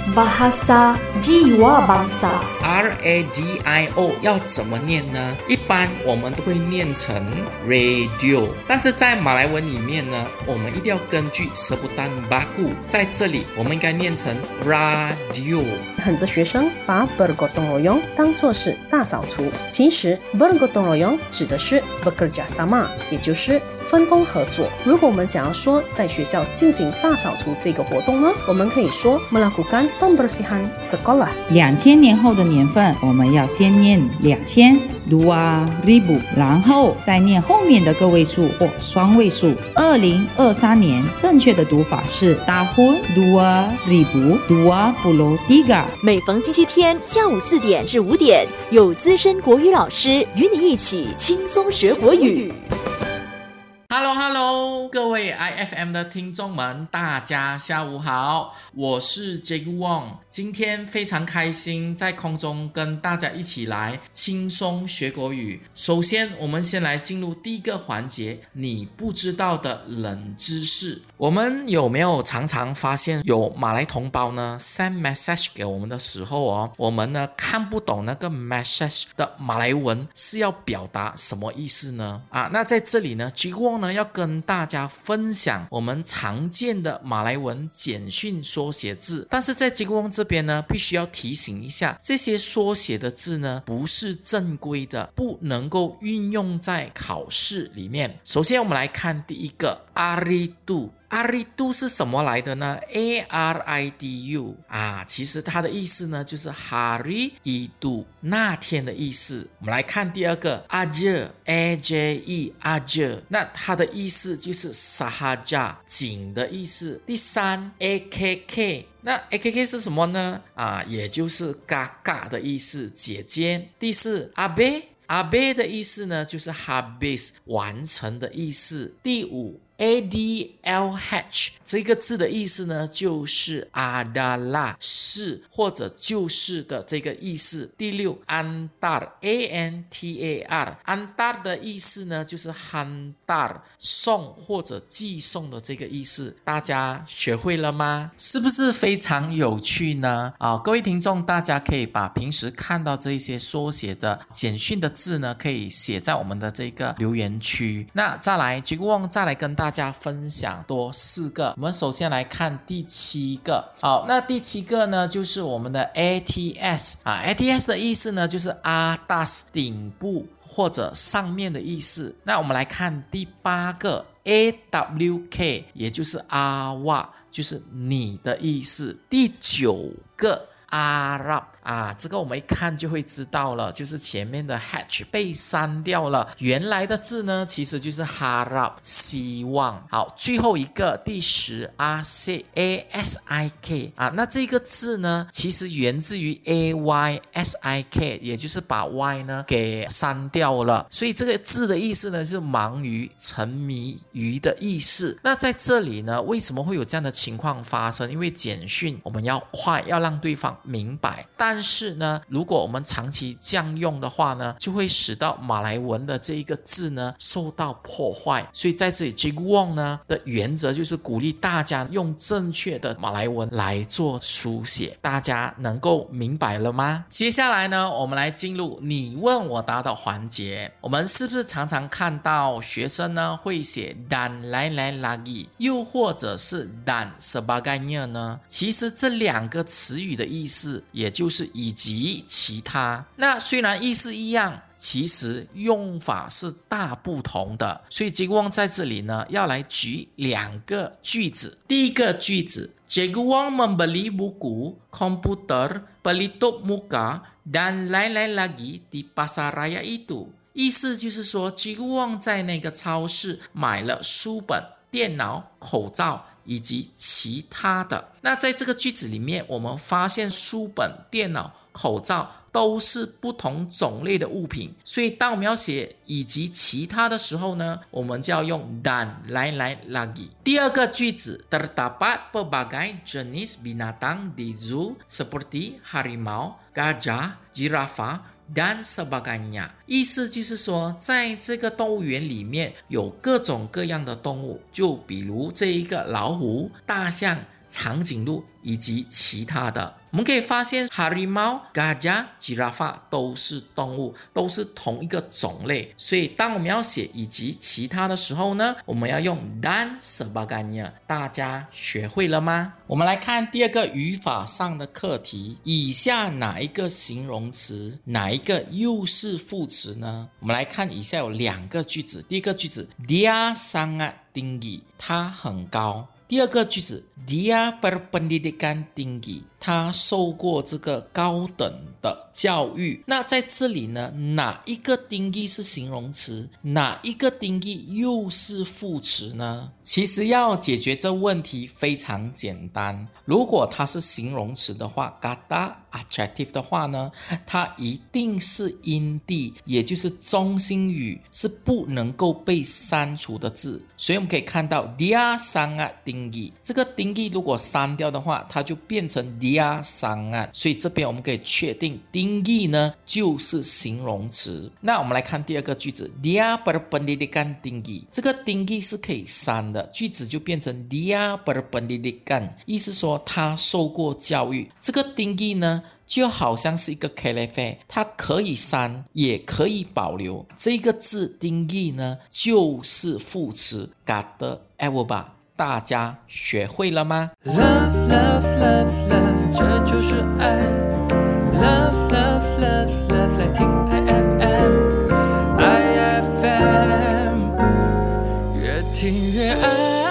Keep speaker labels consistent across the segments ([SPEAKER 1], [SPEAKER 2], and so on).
[SPEAKER 1] Bahasa Jiwa Bangsa
[SPEAKER 2] Radio 要怎么念呢？一般我们都会念成 radio， 但是在马来文里面呢，我们一定要根据sebutan baku， 在这里我们应该念成 radio。
[SPEAKER 3] 很多学生把 bergotong royong 当作是大扫除，其实 bergotong royong 指的是 bekerja sama， 也就是分工合作。如果我们想要说在学校进行大扫除这个活动呢，我们可以说 melakukan pembersihan sekolah。
[SPEAKER 4] 2000年后的年份，我们要先念2000 2000， 然后再念后面的个位数或双位数。2023年正确的读法是 tahun 2023。
[SPEAKER 5] 每逢星期天下午4点至5点，有资深国语老师与你一起轻松学国语。
[SPEAKER 2] Hello， 各位 IFM 的听众们，大家下午好，我是 Jack Wong。今天非常开心在空中跟大家一起来轻松学国语。首先，我们先来进入第一个环节，你不知道的冷知识。我们有没有常常发现有马来同胞呢 send message 给我们的时候我们呢看不懂那个 message 的马来文是要表达什么意思呢？那在这里呢 Jack Wong 呢要跟大家分享我们常见的马来文简讯缩写字，但是在 Jack Wong 这边呢必须要提醒一下，这些缩写的字呢不是正规的，不能够运用在考试里面。首先我们来看第一个 Aridu。Aridu 是什么来的呢？ ARIDU 其实它的意思呢就是 Hari Idu 那天的意思。我们来看第二个 Aje AJE Aje， 那它的意思就是 Sahaja 仅的意思。第三 AKK， 那 AKK 是什么呢？也就是嘎嘎的意思，姐姐。第四 Abe 的意思呢就是 habis 完成的意思。第五ADLH 这个字的意思呢就是adalah 是或者就是的这个意思。第六 Antar ANTAR Antar 的意思呢就是 hantar 送或者寄送的这个意思。大家学会了吗？是不是非常有趣呢？各位听众，大家可以把平时看到这一些缩写的简讯的字呢可以写在我们的这个留言区。那再来 Jack Wong 再来跟大家分享多4个。我们首先来看第7个。好，那第7个呢就是我们的 ATS ATS 的意思呢就是 atas 顶部或者上面的意思。那我们来看第8个 AWK 也就是阿哇，就是你的意思。第9个Arab 这个我们一看就会知道了，就是前面的 hatch 被删掉了，原来的字呢其实就是 harap 希望。好，最后一个第10 ASIK 那这个字呢其实源自于 AYSIK， 也就是把 Y 呢给删掉了，所以这个字的意思呢是忙于沉迷于的意思。那在这里呢为什么会有这样的情况发生？因为简讯我们要快，要让对方明白，但是呢如果我们长期这样用的话呢，就会使到马来文的这一个字呢受到破坏。所以在这里 Jack Wong 呢的原则就是鼓励大家用正确的马来文来做书写。大家能够明白了吗？接下来呢我们来进入你问我答的环节。我们是不是常常看到学生呢会写 dan lain-lain lagi 又或者是 dan sebagainya 呢？其实这2个词语的意思也就是以及其他，那虽然意思一样，其实用法是大不同的。所以 Jack Wong 在这里呢要来举2个句子。第一个句子 Jack Wong membeli buku, komputer, pelitup muka dan lain-lain lagi di pasar raya itu。 意思就是说 Jack Wong 在那个超市买了书本、电脑、口罩以及其他的。那在这个句子里面我们发现书本、电脑、口罩都是不同种类的物品，所以当我们要写以及其他的时候呢，我们就要用 dan lain-lain lagi。 第二个句子 terdapat pelbagai jenis binatang di zoo seperti harimau, gajah, giraffe dan sebagainya。 意思就是说在这个动物园里面有各种各样的动物，就比如这一个老虎、大象、 长颈鹿以及其他的。我们可以发现 harimau, gajah, giraffe 都是动物，都是同一个种类，所以当我们要写以及其他的时候呢，我们要用 dan sebagainya。 大家学会了吗？我们来看第二个语法上的课题，以下哪一个形容词，哪一个又是副词呢？我们来看以下有2个句子。第一个句子 dia sangat tinggi， 他很高。第二个句子 dia berpendidikan tinggi， 他受过这个高等的教育。那在这里呢，哪一个 tinggi 是形容词，哪一个 tinggi 又是副词呢？其实要解决这问题非常简单，如果它是形容词的话 kata adjective 的话呢，它一定是因地，也就是中心语，是不能够被删除的字。所以我们可以看到 dia sangat tinggi， 这个 tinggi 如果删掉的话，它就变成 dia sangat， 所以这边我们可以确定 tinggi 呢就是形容词。那我们来看第二个句子 dia berpendidikan tinggi， 这个 tinggi 是可以删的，句子就变成 dia berpendidikan， 意思说他受过教育。这个 tinggi 呢就好像是一个 kelefe， 它可以删也可以保留。这个字 tinggi 呢就是副词 kata ewoba。 大家学会了吗？
[SPEAKER 6] Love, love, love, love， 这就是爱。Love, love, love, love， 来听 IFM， 越听越爱。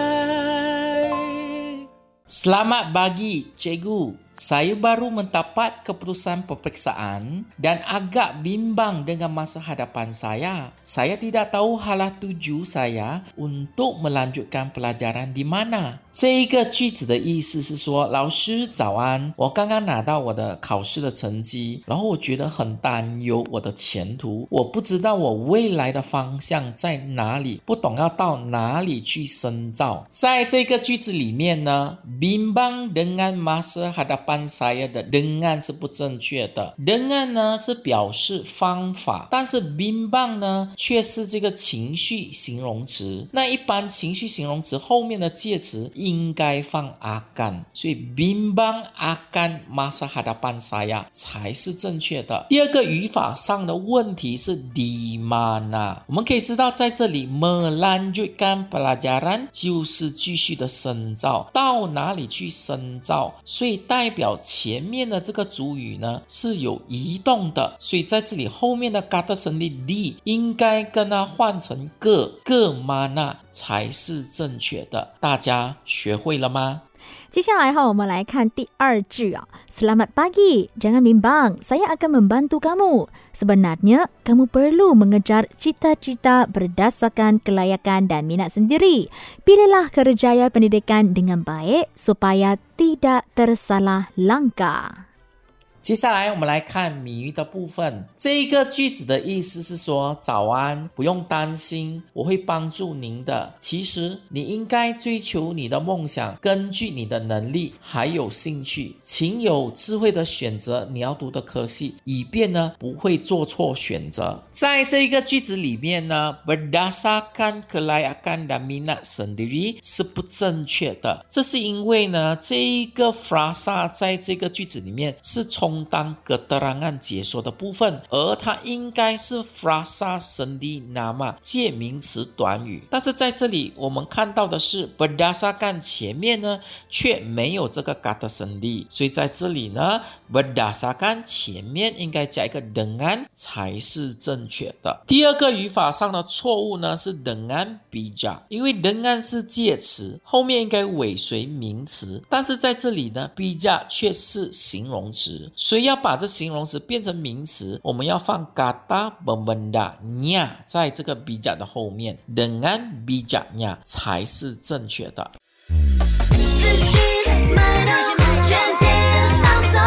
[SPEAKER 2] Selamat pagi, Cikgu. Saya baru mendapat keputusan peperiksaan dan agak bimbang dengan masa hadapan saya. Saya tidak tahu hala tuju saya untuk melanjutkan pelajaran di mana. 这一个句子的意思是说，老师早安，我刚刚拿到我的考试的成绩，然后我觉得很担忧我的前途，我不知道我未来的方向在哪里，不懂要到哪里去深造。在这个句子里面呢， bimbang dengan masa hadapan saya 的 dengan 是不正确的， dengan 呢是表示方法，但是 bimbang 呢却是这个情绪形容词。那一般情绪形容词后面的介词应该放 akan， 所以 bimbang akan masa hadapan saya 才是正确的。第二个语法上的问题是 di mana， 我们可以知道在这里 melanjutkan pelajaran 就是继续的深造，到哪里去深造，所以代表前面的这个主语呢是有移动的，所以在这里后面的 kata sendiri di 应该跟它换成个 mana 才是正确的。大家学会了吗？
[SPEAKER 7] 接下来我们来看第2句啊。Selamat pagi, jangan bimbang, saya akan membantu kamu. Sebenarnya, kamu perlu mengejar cita-cita berdasarkan kelayakan dan minat sendiri. Pilihlah kerjaya pendidikan dengan baik supaya tidak tersalah langkah.
[SPEAKER 2] 接下来我们来看谜语的部分。这个句子的意思是说，早安，不用担心，我会帮助您的。其实你应该追求你的梦想，根据你的能力还有兴趣，请有智慧的选择你要读的科系，以便呢不会做错选择。在这个句子里面呢 berdasarkan kelayakan dan minat sendiri 是不正确的，这是因为呢这一个 frasa 在这个句子里面是充当keterangan解说的部分，而它应该是 frasa sendi nama 介名词短语，但是在这里我们看到的是 berdasarkan 前面呢却没有这个 kata sendi， 所以在这里呢 berdasarkan 前面应该加一个 dengan 才是正确的。第二个语法上的错误呢是 dengan bijak， 因为 dengan 是介词，后面应该尾随名词，但是在这里呢 bijak 却是形容词，所以要把这形容词变成名词，我们要放 kata pembendanya 在这个 bijak 的后面， dengan bijaknya 才是正确的。
[SPEAKER 8] 资讯脉动全天放送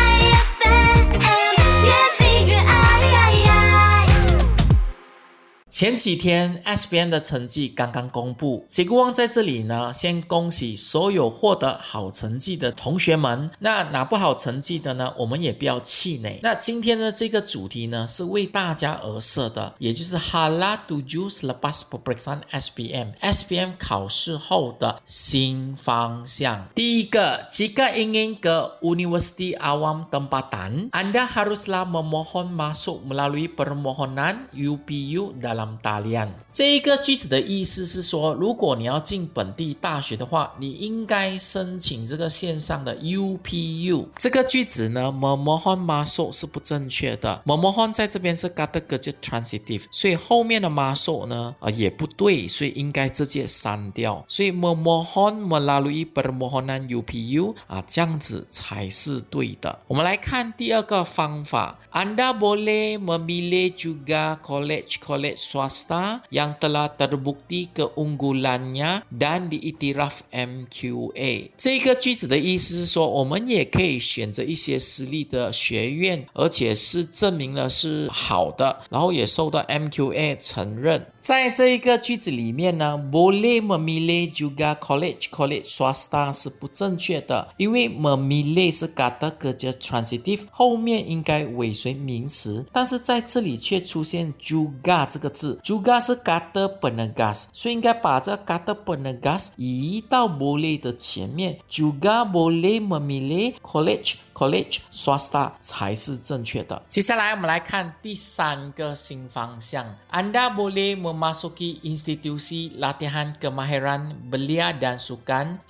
[SPEAKER 8] IFM 越听越爱。
[SPEAKER 2] 前几天 SBM 的成绩刚刚公布，杰哥旺在这里呢，先恭喜所有获得好成绩的同学们。那拿不好成绩的呢，我们也不要气馁。那今天的这个主题呢，是为大家而设的，也就是 Hala 7 selepas peperiksaan SBM 考试后的新方向。第一个 jika ingin ke Universiti Awam Tempatan, Anda haruslah memohon masuk melalui permohonan UPU dalam talian。 这一个句子的意思是说，如果你要进本地大学的话，你应该申请这个线上的 UPU。 这个句子呢 memohon masuk 是不正确的， memohon 在这边是 kata kerja transitive， 所以后面的 masuk 呢也不对，所以应该直接删掉，所以 memohon melalui permohonan UPU 这样子才是对的。我们来看第二个方法， Anda boleh memilih juga college-college swasta yang telah terbukti keunggulannya dan diiktiraf MQA。 这个句子的意思是说，我们也可以选择一些私立的学院，而且是证明了是好的，然后也受到 MQA 承认。在这一个句子里面呢 boleh memilih juga college swasta 是不正确的，因为 memilih 是 kata kerja transitive， 后面应该尾随名词，但是在这里却出现 juga 这个字， juga 是 kata penegas， 所以应该把这个 kata penegas 移到 boleh 的前面， juga boleh memilih college swasta 才是正确的。接下来我们来看第三个新方向， Anda boleh memasuki institusi latihan kemahiran belia dan sukan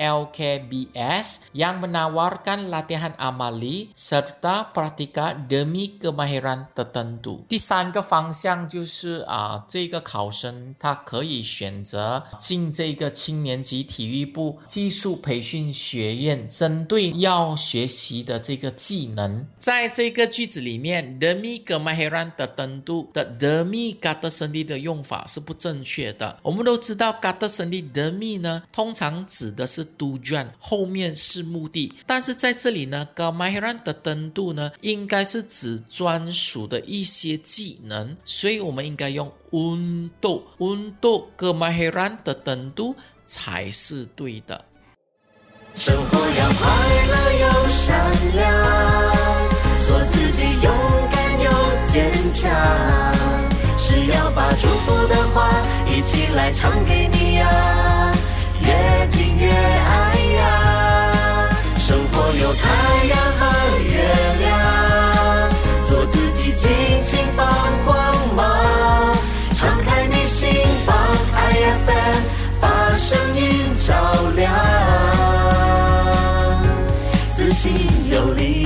[SPEAKER 2] ILKBS yang menawarkan latihan amali serta praktika demi kemahiran tertentu。 第三个方向就是这个考生他可以选择进这个青年级体育部技术培训学院，针对要学习的这个技能。在这个句子里面 demi kemahiran tertentu 的 demi kata sendiri 的用法是不正确的。我们都知道 kata sendiri demi 呢通常指的是 tujuan， 后面是目的，但是在这里呢 kemahiran tertentu 呢应该是指专属的一些技能，所以我们应该用 untuk kemahiran tertentu 才是对的。
[SPEAKER 8] 生活要快乐又善良，做自己勇敢又坚强，是要把祝福的话一起来唱给你呀，越听越爱呀。生活有太阳和月亮，做自己尽情放光芒，敞开你心房 IFM， 把声音照亮，自信有力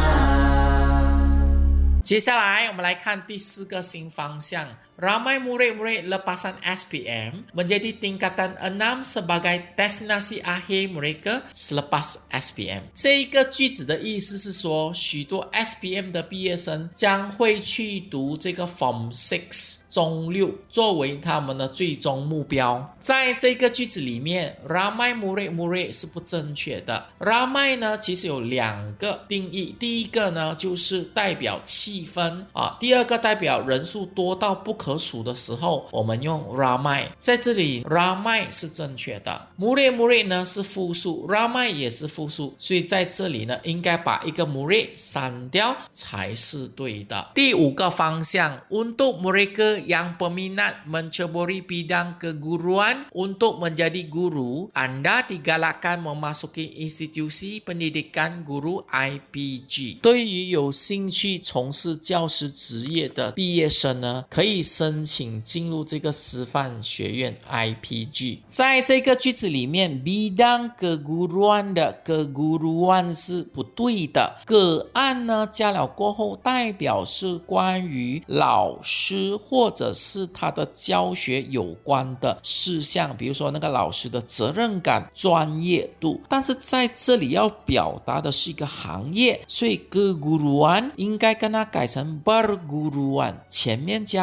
[SPEAKER 8] 量。
[SPEAKER 2] 接下来我们来看第四个新方向， Ramai murid-murid lepasan SBM menjadi tingkatan 6 sebagai destinasi akhir mereka selepas SBM。 这一个句子的意思是说，许多 SBM 的毕业生将会去读这个 Form 6中6作为他们的最终目标。在这个句子里面 Ramai murid-murid 是不正确的。 Ramai 呢其实有两个定义，第一个呢就是代表气氛第二个代表人数多到不可数的时候，我们用 Ramai。 在这里 Ramai 是正确的， murid 呢是复数， Ramai 也是复数，所以在这里呢应该把一个 murid 删掉才是对的。第五个方向 Untuk mereka yang peminat menceburi bidang keguruan untuk menjadi guru, Anda digalakkan memasuki institusi pendidikan guru IPG。 对于有兴趣从事教师职业的毕业生呢，可以申请进入这个师范学院 IPG。 在这个句子里面 bidang keguruan 的 keguruan 是不对的， 个案呢加了过后代表是关于老师或者是他的教学有关的事项，比如说那个老师的责任感、专业度，但是在这里要表达的是一个行业，所以 keguruan 应该跟它改成 perguruan， 前面加 p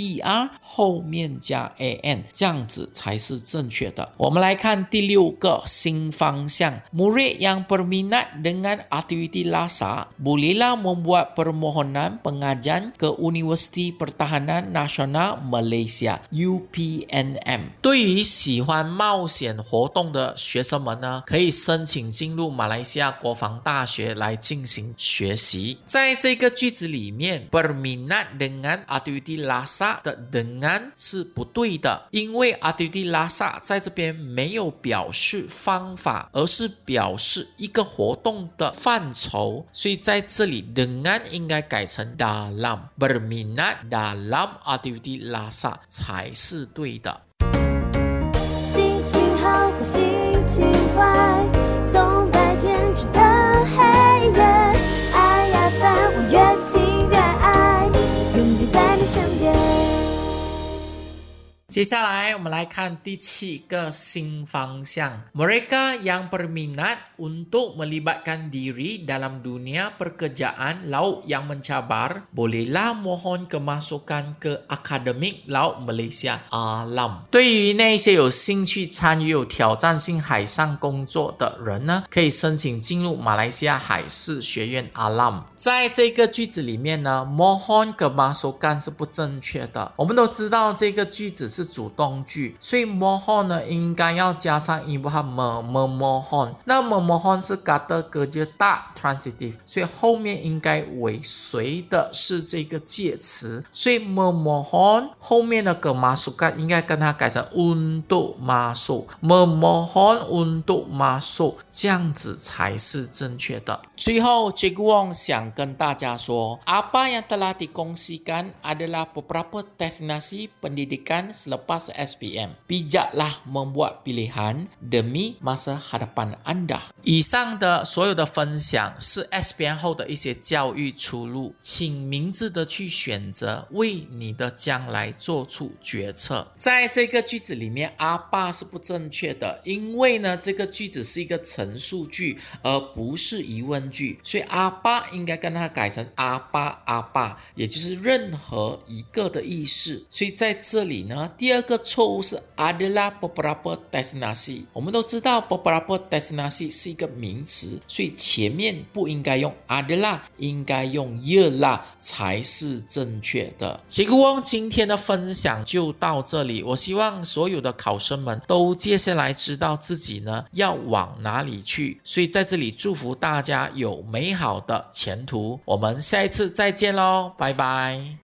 [SPEAKER 2] er 后面加 an， 这样子才是正确的。我们来看第6个新方向 Murid yang berminat dengan aktiviti LASA bolehlah membuat permohonan pengajian ke Universiti Pertahanan Nasional Malaysia UPNM。 对于喜欢冒险活动的学生们呢，可以申请进入马来西亚国防大学来进行学习。在这个句子里面 berminat dengan aktiviti LASA 的 dengan 是不对的，因为 aktiviti LASA 在这边没有表示方法，而是表示一个活动的范畴，所以在这里 dengan 应该改成 dalam， berminat dalam aktiviti LASA 才是对的。
[SPEAKER 9] 心情好或心情坏，从白天直到黑夜，爱呀烦，我越听越爱，永远在你身边。
[SPEAKER 2] 接下来我们来看第7个新方向 Mereka yang berminat untuk melibatkan diri dalam dunia pekerjaan laut yang mencabar bolehlah mohon kemasukan ke Akademik Laut Malaysia Alam。 对于那些有兴趣参与有挑战性海上工作的人呢，可以申请进入马来西亚海事学院 Alam。 在这个句子里面呢 mohon kemasukan 是不正确的。我们都知道这个句子是主动句，所以 mohon 呢应该要加上 ibu ha memohon。 那 memohon 是 kata kerja tak transitive， 所以后面应该尾随的是这个介词，所以 memohon 后面的 kemasukan 应该跟它改成 untuk masuk， memohon untuk masuk， 这样子才是正确的。最后 Cikgu Wong 想跟大家说 apa yang telah dikongsikan adalah beberapa destinasi pendidikan selepas SPM. Bijaklah membuat pilihan demi masa hadapan anda. 以上的所有的分享是 SPM 后的一些教育出路，请明智的去选择，为你的将来做出决策。在这个句子里面 apa 是不正确的，因为呢这个句子是一个陈述句而不是疑问句，所以 apa 应该跟它改成 apa， 也就是任何一个的意思。所以在这里呢，第2个错误是 adalah beberapa destinasi。 我们都知道 beberapa destinasi 是一个名词，所以前面不应该用 adalah， 应该用 ialah 才是正确的。杰克翁今天的分享就到这里，我希望所有的考生们都接下来知道自己呢要往哪里去，所以在这里祝福大家有美好的前途。我们下一次再见咯，拜拜。